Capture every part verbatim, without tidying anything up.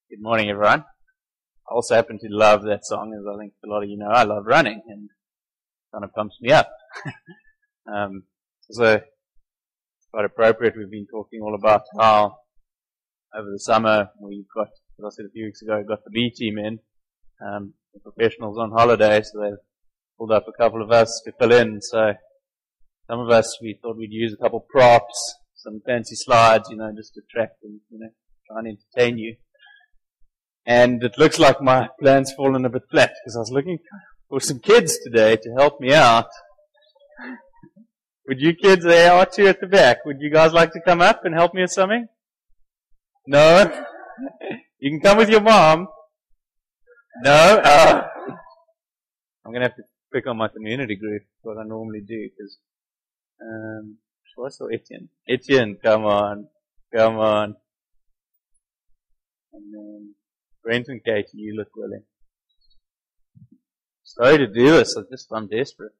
Good morning, everyone. I also happen to love that song, as I think a lot of you know. I love running, and it kind of pumps me up. um, so, it's quite appropriate. We've been talking all about how over the summer we've got, as I said a few weeks ago, got the B team in. Um, the professionals on holiday, so they've pulled up a couple of us to fill in. So, some of us, we thought we'd use a couple props, some fancy slides, you know, just to attract and, you know, try and entertain you. And it looks like my plan's fallen a bit flat because I was looking for some kids today to help me out. Would you kids, there are two at the back, would you guys like to come up and help me with something? No? You can come with your mom. No? Oh. I'm going to have to pick on my community group, what I normally do, because, um, what's or Etienne? Etienne, come on. Come on. And then, Brent and Katie, you look willing. Sorry to do this, I just, I'm desperate.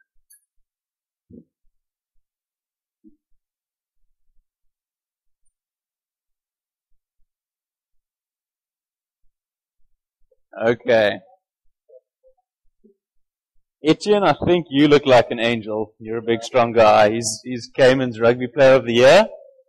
Okay. Etienne, I think you look like an angel. You're a big, strong guy. He's, he's Cayman's Rugby Player of the Year.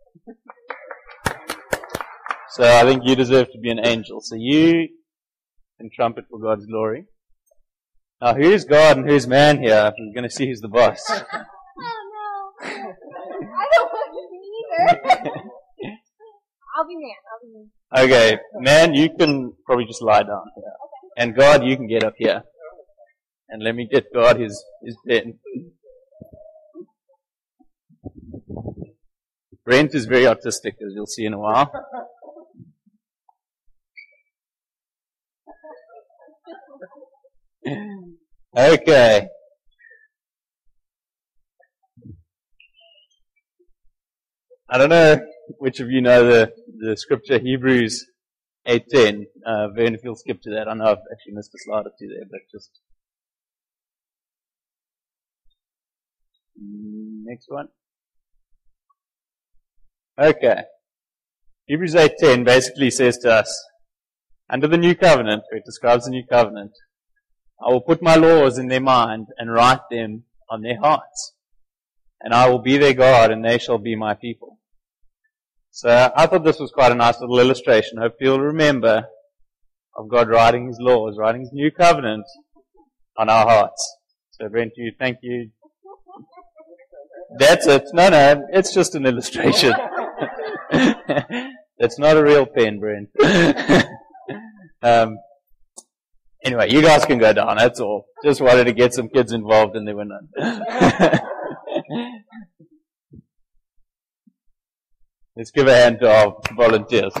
So I think you deserve to be an angel. So you can trumpet for God's glory. Now who's God and who's man here? We're going to see who's the boss. Oh no. I don't want to be either. I'll be man. I'll be man. Okay. Man, you can probably just lie down here. Okay. And God, you can get up here. And let me get God his, his pen. Brent is very artistic, as you'll see in a while. Okay. I don't know which of you know the, the scripture Hebrews eight ten. Uh, Vern, if you'll skip to that. I know I've actually missed a slide or two there, but just next one. Okay. Hebrews eight ten basically says to us, under the new covenant, where it describes the new covenant, I will put my laws in their mind and write them on their hearts. And I will be their God and they shall be my people. So I thought this was quite a nice little illustration. I hope you'll remember of God writing His laws, writing His new covenant on our hearts. So Brent, you, thank you. That's it. No, no, it's just an illustration. It's not a real pen, Brent. um, Anyway, you guys can go down, that's all. Just wanted to get some kids involved and there were none. Let's give a hand to our volunteers.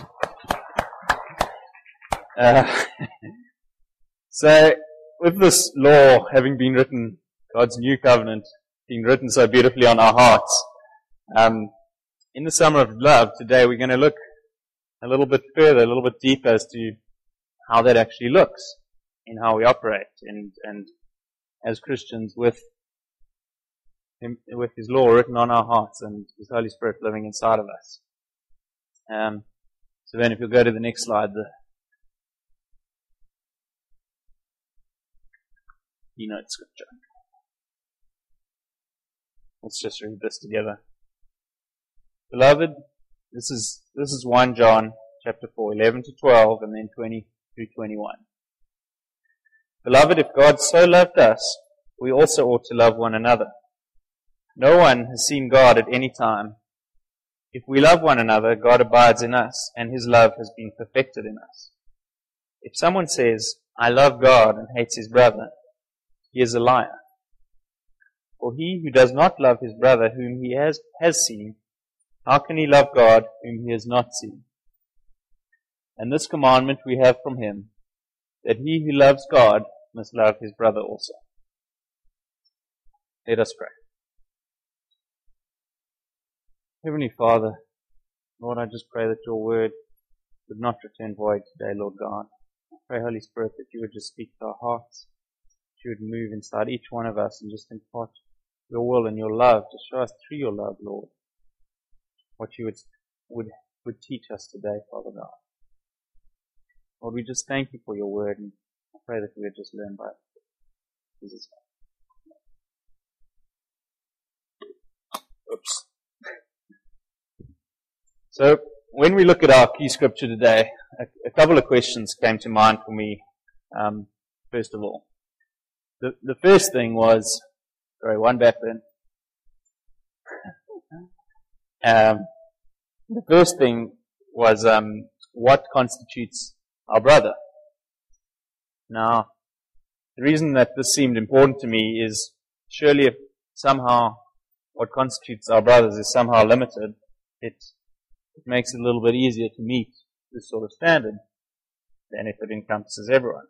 Uh, so, with this law having been written, God's new covenant being written so beautifully on our hearts, um, in the summer of love today we're going to look a little bit further, a little bit deeper as to how that actually looks in how we operate, and, and as Christians with him, with His law written on our hearts and His Holy Spirit living inside of us. Um, so then if you'll go to the next slide, the keynote scripture. Let's just read this together. Beloved, this is, this is First John chapter four, eleven to twelve, and then twenty through twenty-one. Beloved, if God so loved us, we also ought to love one another. No one has seen God at any time. If we love one another, God abides in us, and His love has been perfected in us. If someone says, I love God, and hates his brother, he is a liar. For he who does not love his brother whom he has, has seen, how can he love God whom he has not seen? And this commandment we have from Him, that he who loves God must love his brother also. Let us pray. Heavenly Father, Lord, I just pray that Your word would not return void today, Lord God. I pray, Holy Spirit, that You would just speak to our hearts, that You would move inside each one of us and just impart Your will and Your love, to show us through Your love, Lord, what You would, would, would teach us today, Father God. Lord, we just thank you for your word, and I pray that we would just learn by it. In Jesus' name. Oops. So, when we look at our key scripture today, a, a couple of questions came to mind for me, um, first of all. The, the first thing was, sorry, one back then. Um, the first thing was, um, what constitutes our brother? Now, the reason that this seemed important to me is, surely if somehow what constitutes our brothers is somehow limited, it, it makes it a little bit easier to meet this sort of standard than if it encompasses everyone.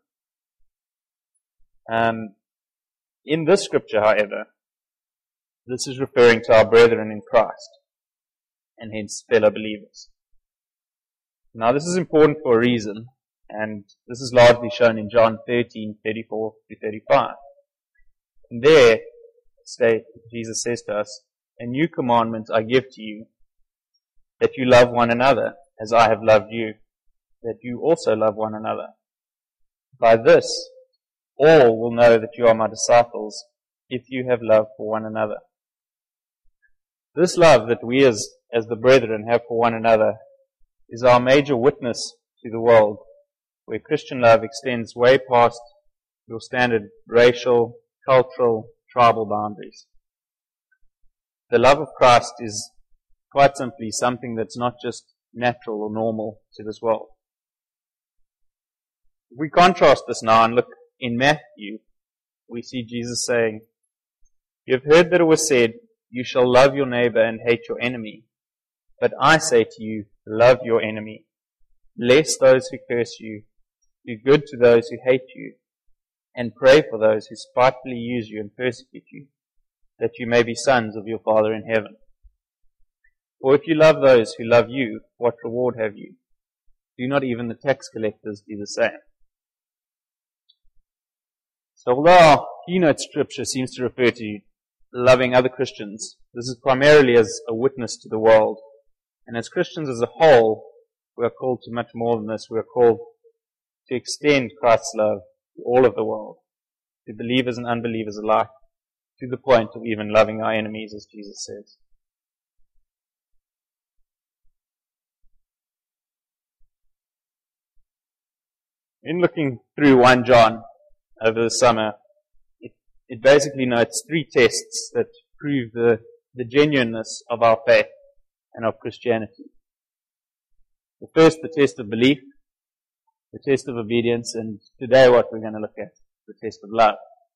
Um, in this scripture, however, this is referring to our brethren in Christ, and hence fellow believers. Now this is important for a reason, and this is largely shown in John thirteen, thirty-four to thirty-five. And there, state, Jesus says to us, "A new commandment I give to you, that you love one another as I have loved you, that you also love one another. By this, all will know that you are my disciples, if you have love for one another." This love that we as, as the brethren have for one another is our major witness to the world, where Christian love extends way past your standard racial, cultural, tribal boundaries. The love of Christ is quite simply something that's not just natural or normal to this world. If we contrast this now and look in Matthew, we see Jesus saying, "You have heard that it was said, you shall love your neighbor and hate your enemy. But I say to you, love your enemy. Bless those who curse you. Do good to those who hate you. And pray for those who spitefully use you and persecute you, that you may be sons of your Father in heaven. For if you love those who love you, what reward have you? Do not even the tax collectors do the same?" So although our keynote scripture seems to refer to loving other Christians, this is primarily as a witness to the world. And as Christians as a whole, we are called to much more than this. We are called to extend Christ's love to all of the world, to believers and unbelievers alike, to the point of even loving our enemies, as Jesus says. In looking through First John over the summer, it, it basically notes three tests that prove the, the genuineness of our faith and of Christianity. The first, the test of belief, the test of obedience, and today what we're going to look at, the test of love.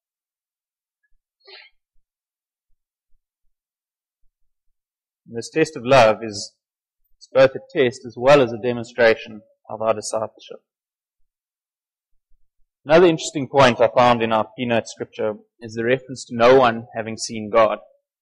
And this test of love is it's both a test as well as a demonstration of our discipleship. Another interesting point I found in our keynote scripture is the reference to no one having seen God.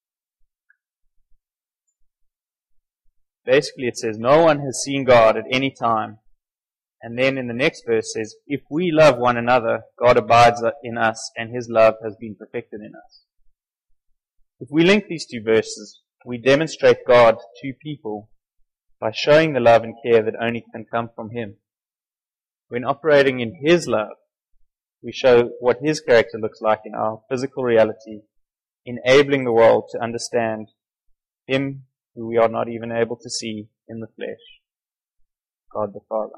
Basically it says, no one has seen God at any time. And then in the next verse says, if we love one another, God abides in us and His love has been perfected in us. If we link these two verses, we demonstrate God to people by showing the love and care that only can come from Him. When operating in His love, we show what His character looks like in our physical reality, enabling the world to understand Him who we are not even able to see in the flesh, God the Father.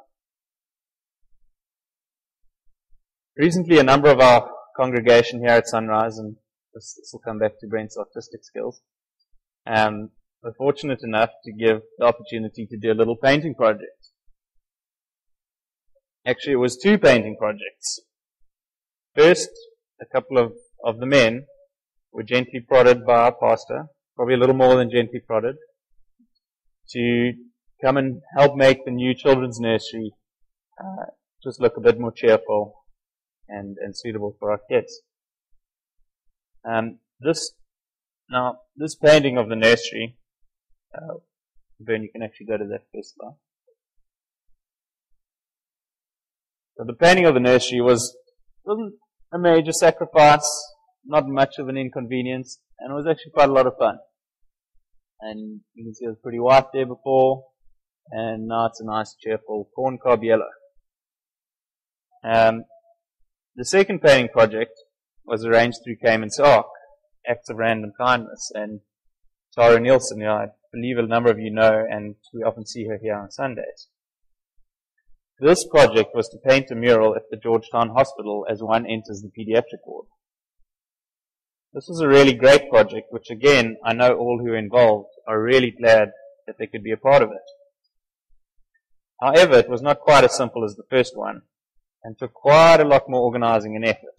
Recently, a number of our congregation here at Sunrise, and this, this will come back to Brent's artistic skills, um, were fortunate enough to give the opportunity to do a little painting project. Actually, it was two painting projects. First, a couple of, of the men were gently prodded by our pastor, probably a little more than gently prodded, to come and help make the new children's nursery uh, just look a bit more cheerful and, and suitable for our kids. Um, this now this painting of the nursery, uh, Ben, you can actually go to that first slide. So the painting of the nursery was wasn't a major sacrifice, not much of an inconvenience, and it was actually quite a lot of fun. And you can see it was pretty white there before, and now it's a nice cheerful corn cob yellow. Um, the second painting project was arranged through Cayman's Ark, Acts of Random Kindness, and Tara Nielsen, who I believe a number of you know, and we often see her here on Sundays. This project was to paint a mural at the Georgetown Hospital as one enters the pediatric ward. This was a really great project, which again, I know all who are involved are really glad that they could be a part of it. However, it was not quite as simple as the first one, and took quite a lot more organizing and effort.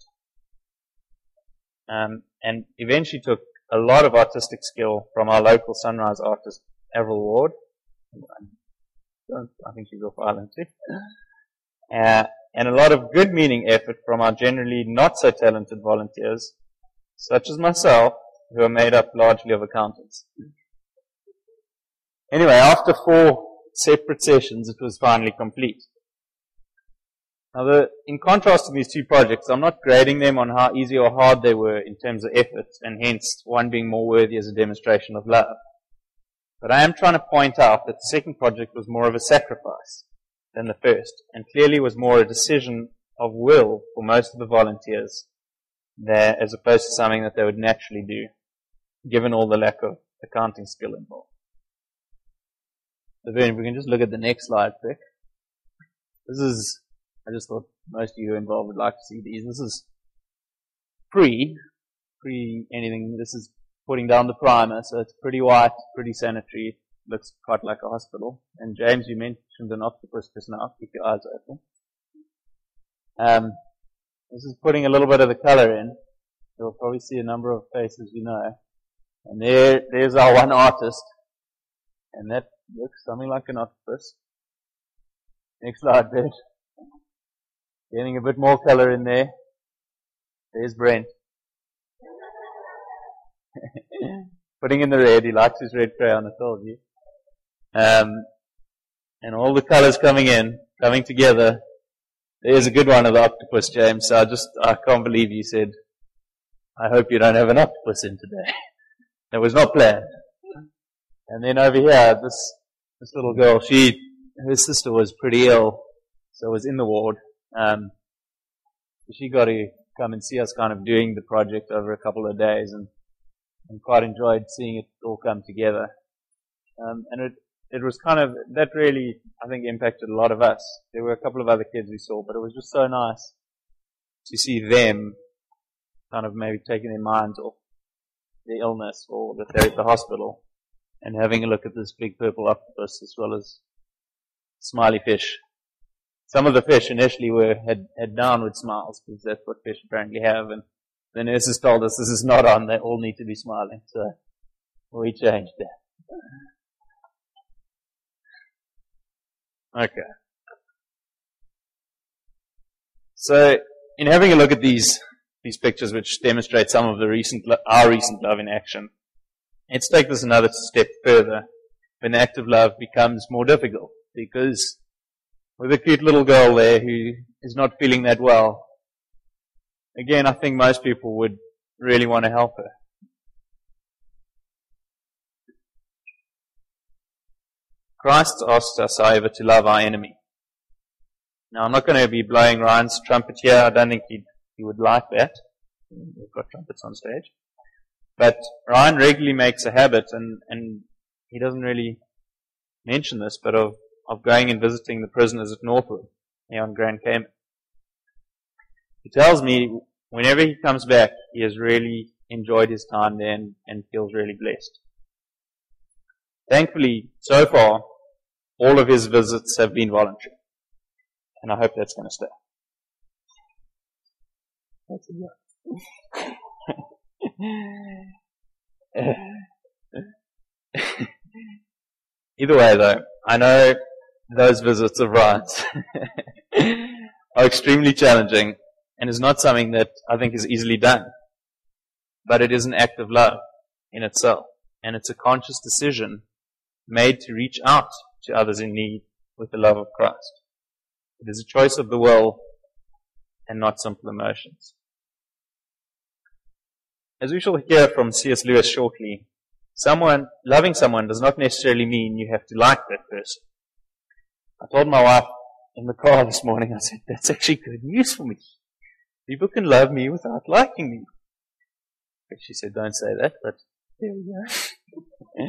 Um, and eventually took a lot of artistic skill from our local Sunrise artist, Avril Ward. I think she's off island too. Uh, and a lot of good meaning effort from our generally not so talented volunteers, such as myself, who are made up largely of accountants. Anyway, after four separate sessions, it was finally complete. Now, the, in contrast to these two projects, I'm not grading them on how easy or hard they were in terms of effort, and hence one being more worthy as a demonstration of love. But I am trying to point out that the second project was more of a sacrifice than the first, and clearly was more a decision of will for most of the volunteers there, as opposed to something that they would naturally do, given all the lack of accounting skill involved. So then, if we can just look at the next slide quick. This is, I just thought most of you involved would like to see these. This is pre, pre anything. This is putting down the primer, so it's pretty white, pretty sanitary. Looks quite like a hospital. And James, you mentioned an octopus just now. Keep your eyes open. Um, this is putting a little bit of the color in. You'll probably see a number of faces you know. And there, there's our one artist. And that looks something like an octopus. Next slide, Bert. Getting a bit more color in there. There's Brent. Putting in the red. He likes his red crayon, I told you. Um, and all the colors coming in, coming together. There's a good one of the octopus, James. So I just, I can't believe you said, I hope you don't have an octopus in today. That was not planned. And then over here, this, this little girl, she, her sister was pretty ill, so was in the ward. Um, she got to come and see us kind of doing the project over a couple of days, and, and quite enjoyed seeing it all come together. Um, and it, it was kind of, that really, I think, impacted a lot of us. There were a couple of other kids we saw, but it was just so nice to see them kind of maybe taking their minds off the illness or that they're at the hospital and having a look at this big purple octopus as well as smiley fish. Some of the fish initially were had, had downward smiles because that's what fish apparently have, and the nurses told us this is not on, they all need to be smiling, so we changed that. Okay. So, in having a look at these these pictures which demonstrate some of the recent our recent love in action, let's take this another step further when the act of love becomes more difficult, because with a cute little girl there who is not feeling that well, again, I think most people would really want to help her. Christ asks us, however, to love our enemy. Now, I'm not going to be blowing Ryan's trumpet here. I don't think he'd, he would like that. We've got trumpets on stage. But Ryan regularly makes a habit, and, and he doesn't really mention this, but of, of going and visiting the prisoners at Northwood, here on Grand Cayman. He tells me whenever he comes back, he has really enjoyed his time there and, and feels really blessed. Thankfully, so far, all of his visits have been voluntary. And I hope that's going to stay. That's a Either way, though, I know those visits of Ryan's are extremely challenging and is not something that I think is easily done. But it is an act of love in itself. And it's a conscious decision made to reach out to others in need with the love of Christ. It is a choice of the will and not simple emotions. As we shall hear from C S Lewis shortly, someone, loving someone does not necessarily mean you have to like that person. I told my wife in the car this morning. I said, that's actually good news for me. People can love me without liking me. But she said, don't say that, but there we go.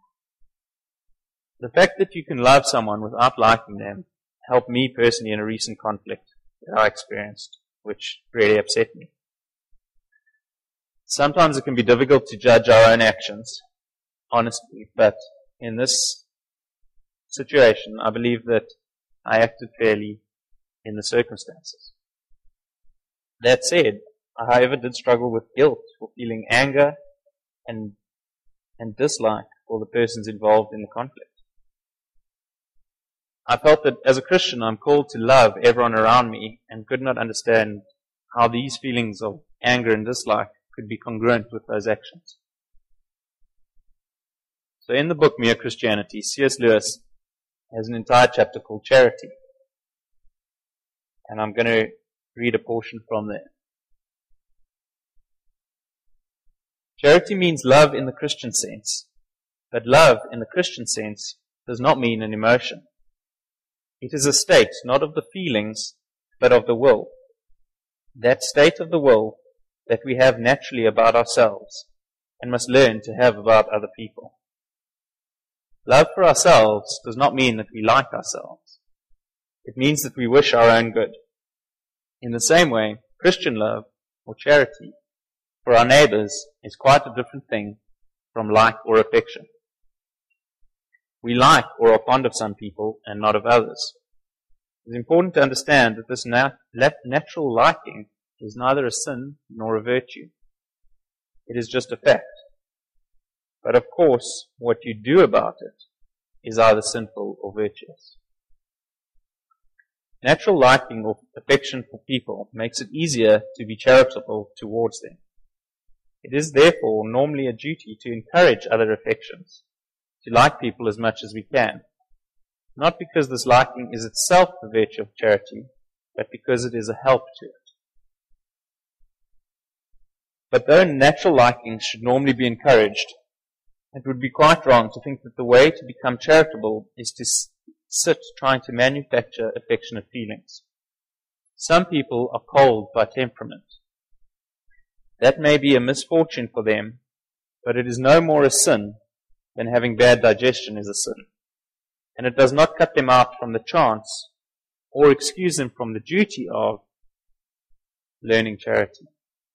The fact that you can love someone without liking them helped me personally in a recent conflict that I experienced, which really upset me. Sometimes it can be difficult to judge our own actions, honestly, but in this situation, I believe that I acted fairly in the circumstances. That said, I, however, did struggle with guilt for feeling anger and and dislike for the persons involved in the conflict. I felt that as a Christian, I'm called to love everyone around me and could not understand how these feelings of anger and dislike could be congruent with those actions. So in the book Mere Christianity, C S Lewis has an entire chapter called Charity. And I'm going to read a portion from there. Charity means love in the Christian sense, but love in the Christian sense does not mean an emotion. It is a state not of the feelings, but of the will. That state of the will that we have naturally about ourselves and must learn to have about other people. Love for ourselves does not mean that we like ourselves. It means that we wish our own good. In the same way, Christian love, or charity, for our neighbors is quite a different thing from like or affection. We like or are fond of some people and not of others. It is important to understand that this nat- natural liking is neither a sin nor a virtue. It is just a fact. But of course, what you do about it is either sinful or virtuous. Natural liking or affection for people makes it easier to be charitable towards them. It is therefore normally a duty to encourage other affections, to like people as much as we can, not because this liking is itself the virtue of charity, but because it is a help to it. But though natural likings should normally be encouraged, it would be quite wrong to think that the way to become charitable is to sit trying to manufacture affectionate feelings. Some people are cold by temperament. That may be a misfortune for them, but it is no more a sin than having bad digestion is a sin. And it does not cut them out from the chance or excuse them from the duty of learning charity.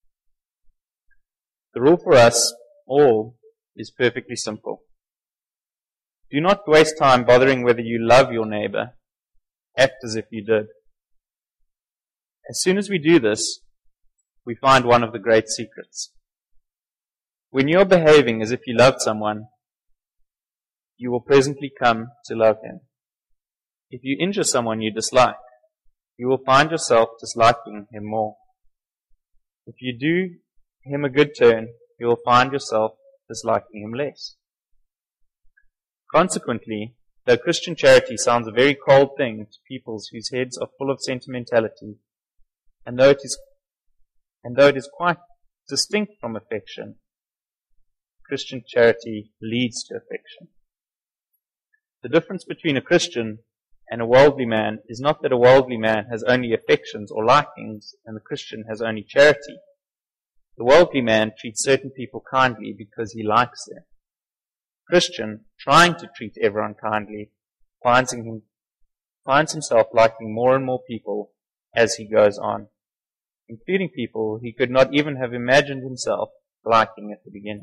The rule for us all is perfectly simple. Do not waste time bothering whether you love your neighbor. Act as if you did. As soon as we do this, we find one of the great secrets. When you are behaving as if you loved someone, you will presently come to love him. If you injure someone you dislike, you will find yourself disliking him more. If you do him a good turn, you will find yourself disliking him less. Consequently, though Christian charity sounds a very cold thing to peoples whose heads are full of sentimentality, and though it is, and though it is quite distinct from affection, Christian charity leads to affection. The difference between a Christian and a worldly man is not that a worldly man has only affections or likings and the Christian has only charity. The worldly man treats certain people kindly because he likes them. Christian, trying to treat everyone kindly, finds, him, finds himself liking more and more people as he goes on, including people he could not even have imagined himself liking at the beginning.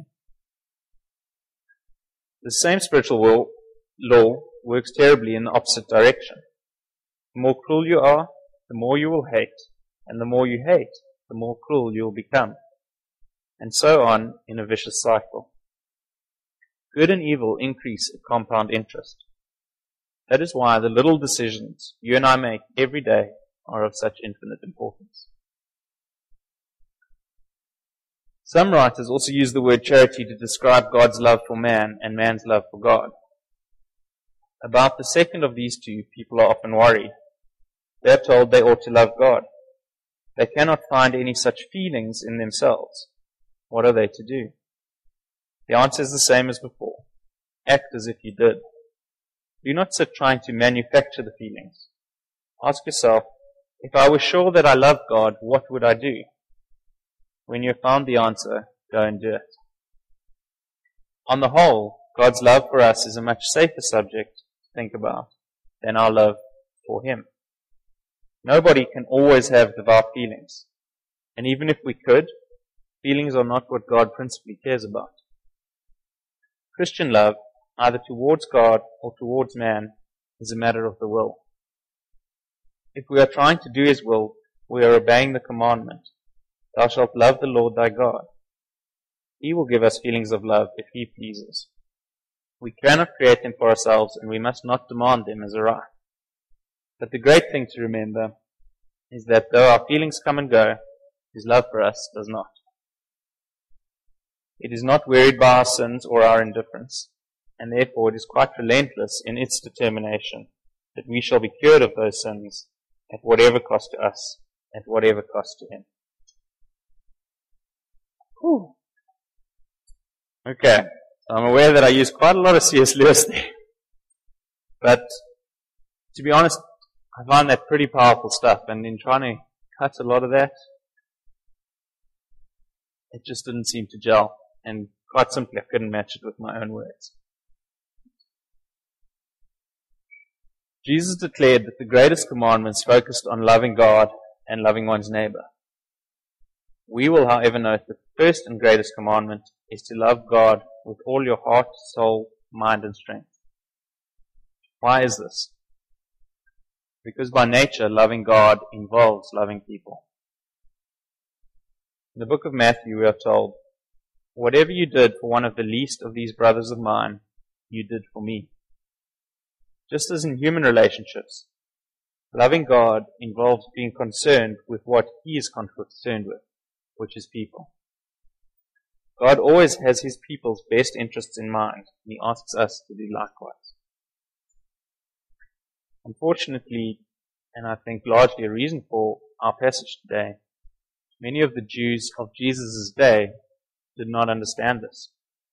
The same spiritual will, law works terribly in the opposite direction. The more cruel you are, the more you will hate, and the more you hate, the more cruel you will become, and so on in a vicious cycle. Good and evil increase at compound interest. That is why the little decisions you and I make every day are of such infinite importance. Some writers also use the word charity to describe God's love for man and man's love for God. About the second of these two, people are often worried. They are told they ought to love God. They cannot find any such feelings in themselves. What are they to do? The answer is the same as before. Act as if you did. Do not sit trying to manufacture the feelings. Ask yourself, if I were sure that I love God, what would I do? When you have found the answer, go and do it. On the whole, God's love for us is a much safer subject to think about than our love for Him. Nobody can always have devout feelings. And even if we could, feelings are not what God principally cares about. Christian love, either towards God or towards man, is a matter of the will. If we are trying to do His will, we are obeying the commandment, Thou shalt love the Lord thy God. He will give us feelings of love if He pleases. We cannot create them for ourselves, and we must not demand them as a right. But the great thing to remember is that though our feelings come and go, His love for us does not. It is not wearied by our sins or our indifference, and therefore it is quite relentless in its determination that we shall be cured of those sins at whatever cost to us, at whatever cost to Him. Whew. Okay, so I'm aware that I used quite a lot of C S Lewis there. But to be honest, I find that pretty powerful stuff, and in trying to cut a lot of that, it just didn't seem to gel, and quite simply I couldn't match it with my own words. Jesus declared that the greatest commandments focused on loving God and loving one's neighbor. We will, however, note that the first and greatest commandment is to love God with all your heart, soul, mind, and strength. Why is this? Because by nature, loving God involves loving people. In the book of Matthew, we are told, whatever you did for one of the least of these brothers of mine, you did for me. Just as in human relationships, loving God involves being concerned with what He is concerned with, which is people. God always has His people's best interests in mind, and He asks us to do likewise. Unfortunately, and I think largely a reason for our passage today, many of the Jews of Jesus' day did not understand this.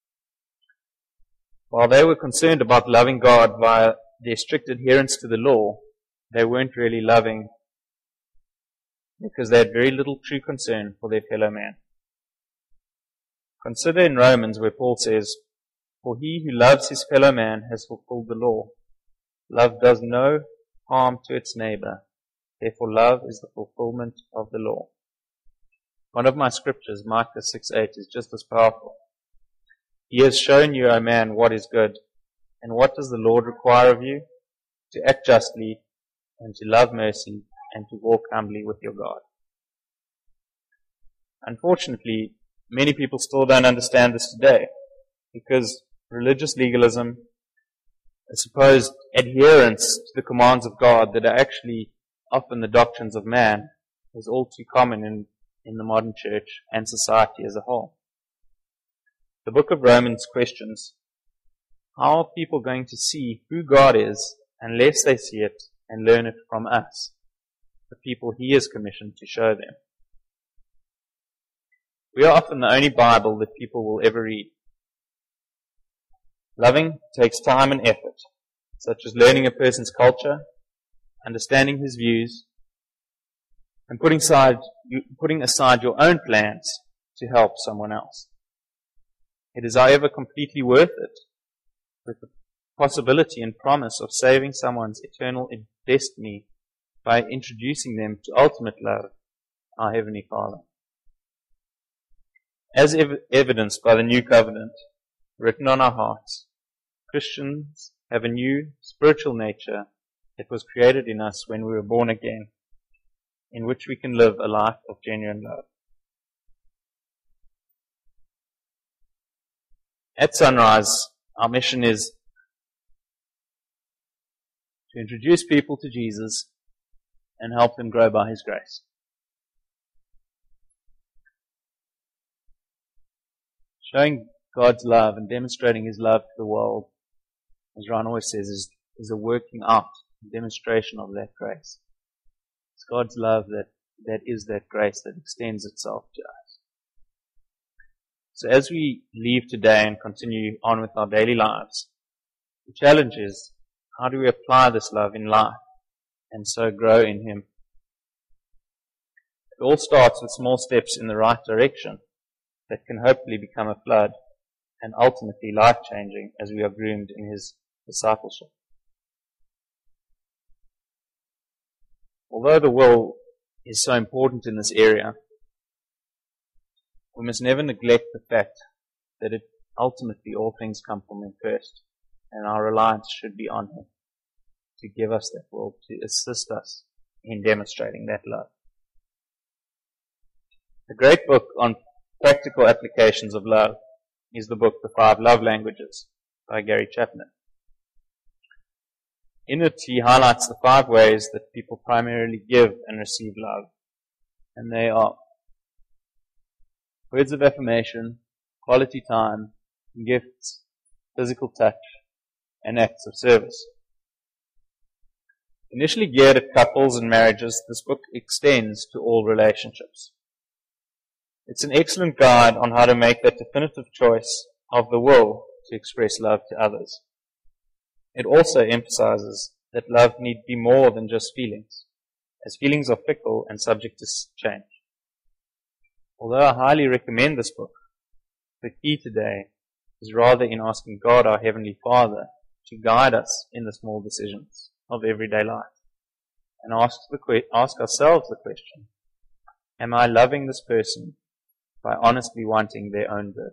While they were concerned about loving God via their strict adherence to the law, they weren't really loving because they had very little true concern for their fellow man. Consider in Romans where Paul says, for he who loves his fellow man has fulfilled the law. Love does no harm to its neighbor. Therefore love is the fulfillment of the law. One of my scriptures, Micah six eight, is just as powerful. He has shown you, O man, what is good. And what does the Lord require of you? To act justly, and to love mercy, and to walk humbly with your God. Unfortunately, many people still don't understand this today, because religious legalism, a supposed adherence to the commands of God that are actually often the doctrines of man, is all too common in, in the modern church and society as a whole. The book of Romans questions, how are people going to see who God is unless they see it and learn it from us, the people He is commissioned to show them? We are often the only Bible that people will ever read. Loving takes time and effort, such as learning a person's culture, understanding his views, and putting aside, putting aside your own plans to help someone else. It is, however, completely worth it, with the possibility and promise of saving someone's eternal destiny by introducing them to ultimate love, our Heavenly Father. As ev- evidenced by the New Covenant, written on our hearts, Christians have a new spiritual nature that was created in us when we were born again, in which we can live a life of genuine love. At Sunrise, our mission is to introduce people to Jesus and help them grow by His grace. Showing God's love and demonstrating His love to the world, as Ron always says, is, is a working out, a demonstration of that grace. It's God's love that, that is that grace that extends itself to us. So as we leave today and continue on with our daily lives, the challenge is, how do we apply this love in life and so grow in Him. It all starts with small steps in the right direction that can hopefully become a flood and ultimately life-changing as we are groomed in His discipleship. Although the will is so important in this area, we must never neglect the fact that it ultimately all things come from Him first, and our reliance should be on Him to give us that will, to assist us in demonstrating that love. A great book on practical applications of love is the book The Five Love Languages by Gary Chapman. In it, he highlights the five ways that people primarily give and receive love, and they are words of affirmation, quality time, gifts, physical touch, and acts of service. Initially geared at couples and marriages, this book extends to all relationships. It's an excellent guide on how to make that definitive choice of the will to express love to others. It also emphasizes that love need be more than just feelings, as feelings are fickle and subject to change. Although I highly recommend this book, the key today is rather in asking God, our Heavenly Father, to guide us in the small decisions of everyday life, and ask, the, ask ourselves the question, am I loving this person by honestly wanting their own good?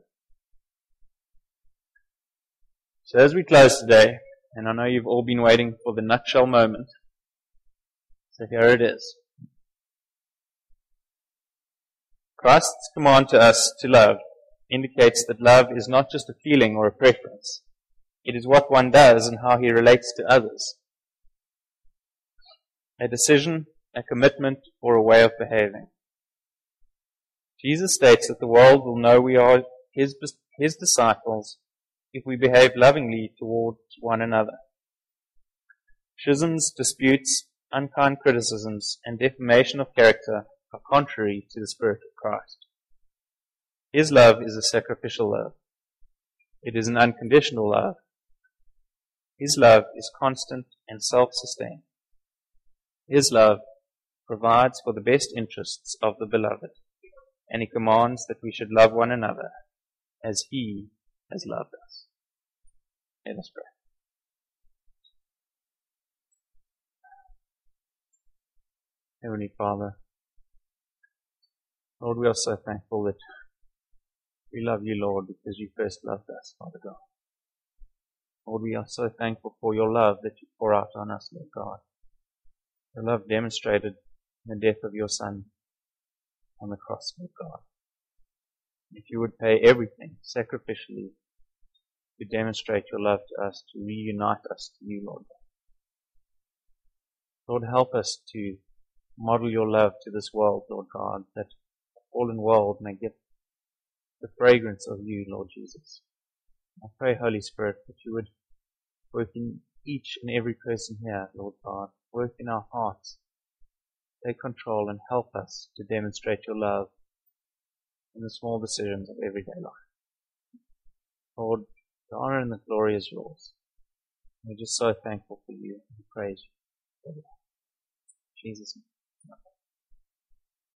So as we close today, and I know you've all been waiting for the nutshell moment, so here it is. Christ's command to us to love indicates that love is not just a feeling or a preference. It is what one does and how he relates to others. A decision, a commitment, or a way of behaving. Jesus states that the world will know we are his, his disciples if we behave lovingly towards one another. Schisms, disputes, unkind criticisms, and defamation of character are contrary to the Spirit of Christ. His love is a sacrificial love. It is an unconditional love. His love is constant and self-sustained. His love provides for the best interests of the beloved, and He commands that we should love one another as He has loved us. Let us pray. Heavenly Father, Lord, we are so thankful that we love You, Lord, because You first loved us, Father God. Lord, we are so thankful for Your love that You pour out on us, Lord God. Your love demonstrated in the death of Your Son on the cross, Lord God. If You would pay everything sacrificially to demonstrate Your love to us, to reunite us to You, Lord God. Lord, help us to model Your love to this world, Lord God, that the fallen world may get the fragrance of You, Lord Jesus. I pray, Holy Spirit, that You would work in each and every person here, Lord God. Work in our hearts. Take control and help us to demonstrate Your love in the small decisions of everyday life. Lord, the honor and the glory is Yours. We're just so thankful for You and praise You. In Jesus' name.